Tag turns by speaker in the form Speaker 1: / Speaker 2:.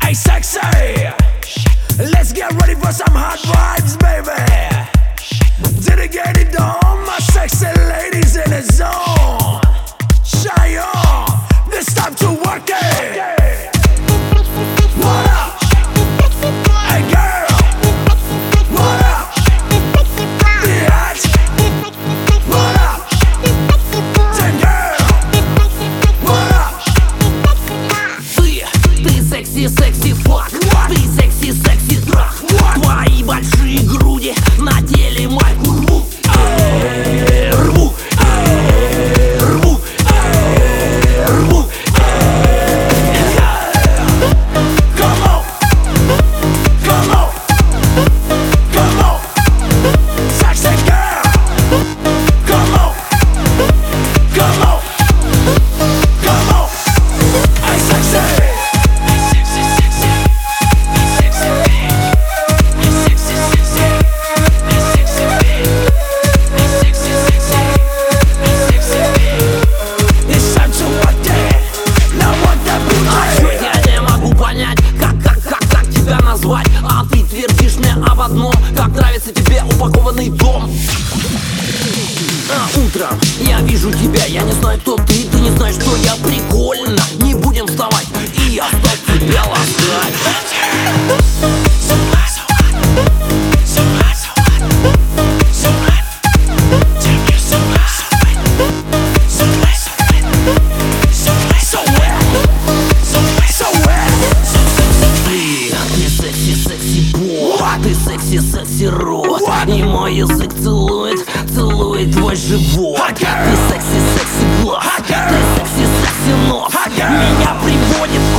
Speaker 1: Hey sexy, let's get ready for some hot vibes, baby. Did it get it done? My sexy ladies in the zone. Shy on, this time to work it. What up? Hey girl, what up? Bitch, what up? Ten girl, what up?
Speaker 2: Ты секси фак, ты секси трах. Твои большие груди надели майку рву. Рву, рву, рву.
Speaker 1: Come on, come on, come on, sexy girl. Come on, come on, come on. Hey sexy.
Speaker 2: А ты твердишь мне об одном, как нравится тебе упакованный дом. А утром я вижу тебя, я не знаю, кто ты не знаешь, что я прикольно. Не будем вставать, и я стал тебя ласкать. Ты секси-рот, и мой язык целует твой живот. Ты секси глаз, ты секси нос, меня приводит